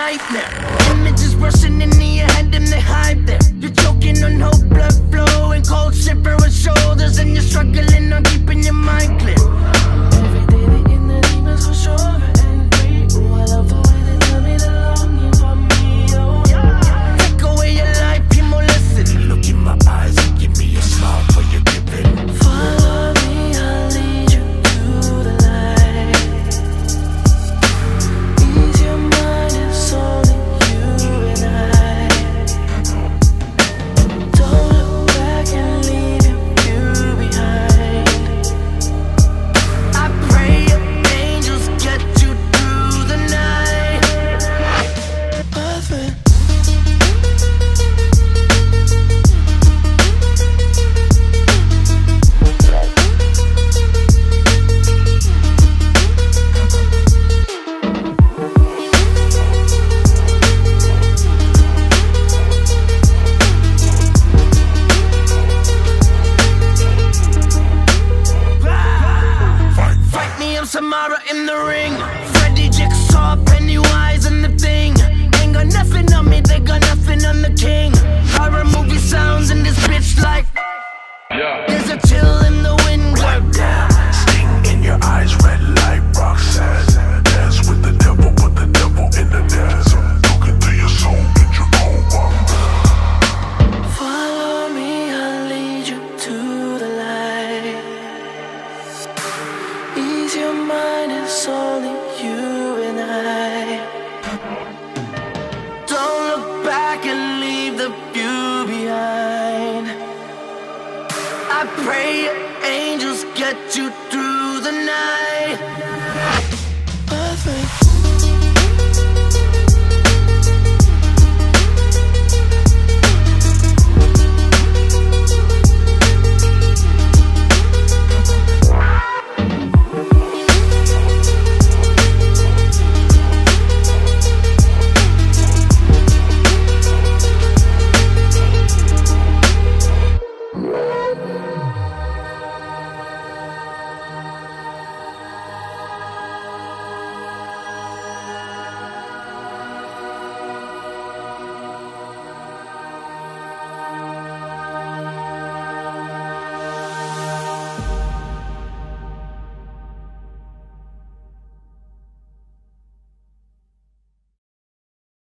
nightmare. Images rushing into your head and they hide there. You're choking on hope, blood flowing, cold shiver with shoulders, and you're struggling on keeping your mind clear. Every day the inner demons go stronger and free. Ooh, I love the way they tell me they're longing for me. Oh, yeah. Take away your life, you more listen. Look in my eyes and give me a smile for your giving. Follow me, I'll lead you to the light. Ease your mind, it's only you and I. Don't look back and leave you behind. I pray your angels get you through the night. Perfect. Fight me, I'm Samara in the ring. Freddy, Jigsaw, Pennywise, and the Thing. Ain't got nothing on me, they got nothing on the king. Horror movie sounds in this bitch like. There's a chill in the wind. Clap down, sting in your eyes, red light, Roxanne. Dance with the devil, put the devil in the desert. Look into your soul, get your own one. Follow me, I'll lead you to the light. Ease your mind, it's only you and I. Don't look back and leave the view behind. I pray your angels get you through the night.